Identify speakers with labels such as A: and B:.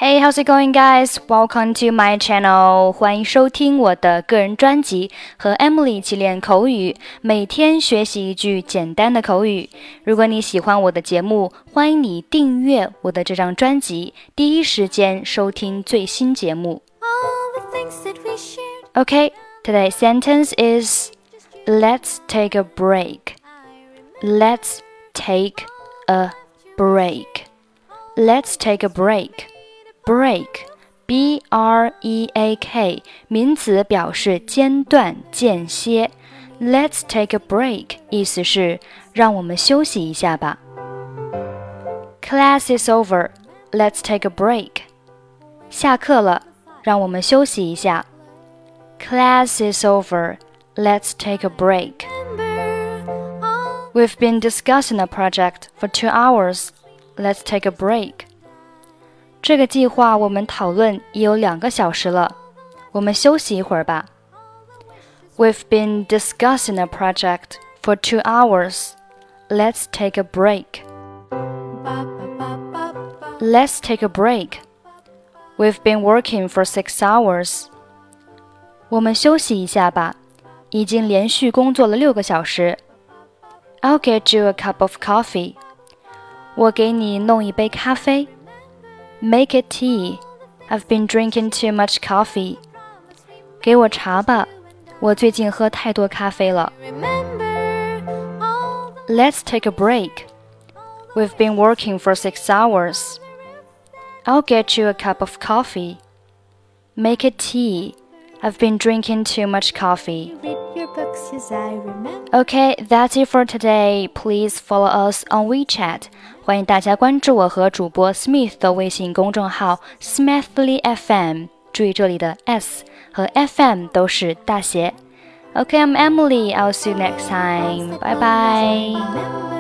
A: Hey, how's it going, guys? Welcome to my channel. 欢迎收听我的个人专辑，和 Emily 一起练口语，每天学习一句简单的口语。如果你喜欢我的节目，欢迎你订阅我的这张专辑，第一时间收听最新节目。Okay, today's sentence is Let's take a break. Let's take a break. Let's take a break.Break, B-R-E-A-K, 名词表示间断、间歇。Let's take a break, 意思是让我们休息一下吧。Class is over, let's take a break. 下课了，让我们休息一下。Class is over, let's take a break. We've been discussing a project for 2 hours, let's take a break.这个计划我们讨论已有2个小时了，我们休息一会儿吧。We've been discussing a project for 2 hours. Let's take a break. Let's take a break. We've been working for 6 hours. 我们休息一下吧，已经连续工作了6个小时。I'll get you a cup of coffee. 我给你弄一杯咖啡。Make it tea. I've been drinking too much coffee. 给我茶吧，我最近喝太多咖啡了。Let's take a break. We've been working for 6 hours. I'll get you a cup of coffee. Make it tea. I've been drinking too much coffee. Okay, that's it for today. Please follow us on WeChat. 欢迎大家关注我和主播 Smith 的微信公众号 Smithly FM。注意这里的 S 和 FM 都是大写。Okay, I'm Emily. I'll see you next time. Bye bye.